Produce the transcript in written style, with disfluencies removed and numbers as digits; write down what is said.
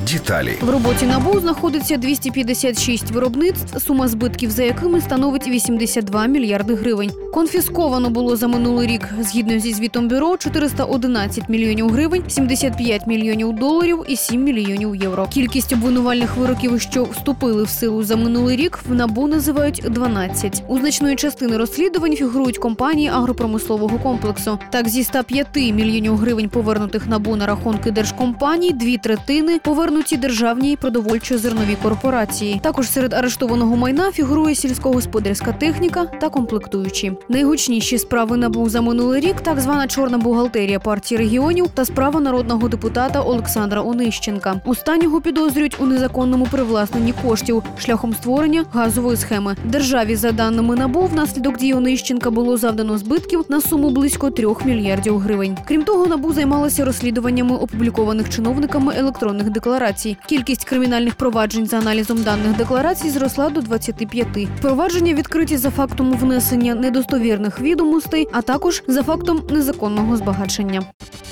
Деталі. В роботі НАБУ знаходиться 256 виробництв, сума збитків за якими становить 82 мільярди гривень. Конфісковано було за минулий рік, згідно зі звітом бюро, 411 мільйонів гривень, 75 мільйонів доларів і 7 мільйонів євро. Кількість обвинувальних вироків, що вступили в силу за минулий рік, в НАБУ називають 12. У значної частини розслідувань фігурують компанії агропромислового комплексу. Так, зі 105 мільйонів гривень, повернутих НАБУ на рахунки держкомпаній, 2/3 повернуті державній продовольчо-зерновій корпорації. Також серед арештованого майна фігурує сільськогосподарська техніка та комплектуючі. Найгучніші справи НАБУ за минулий рік – так звана чорна бухгалтерія партії регіонів та справа народного депутата Олександра Онищенка. Останнього підозрюють у незаконному привласненні коштів шляхом створення газової схеми. Державі, за даними НАБУ, внаслідок дій Онищенка було завдано збитків на суму близько 3 мільярдів гривень. Крім того, НАБУ займалося розслідуваннями опублікованих чиновниками електронних декларацій. Кількість кримінальних проваджень за аналізом даних декларацій зросла до 25. Провадження відкриті за фактом внесення недостовірних відомостей, а також за фактом незаконного збагачення.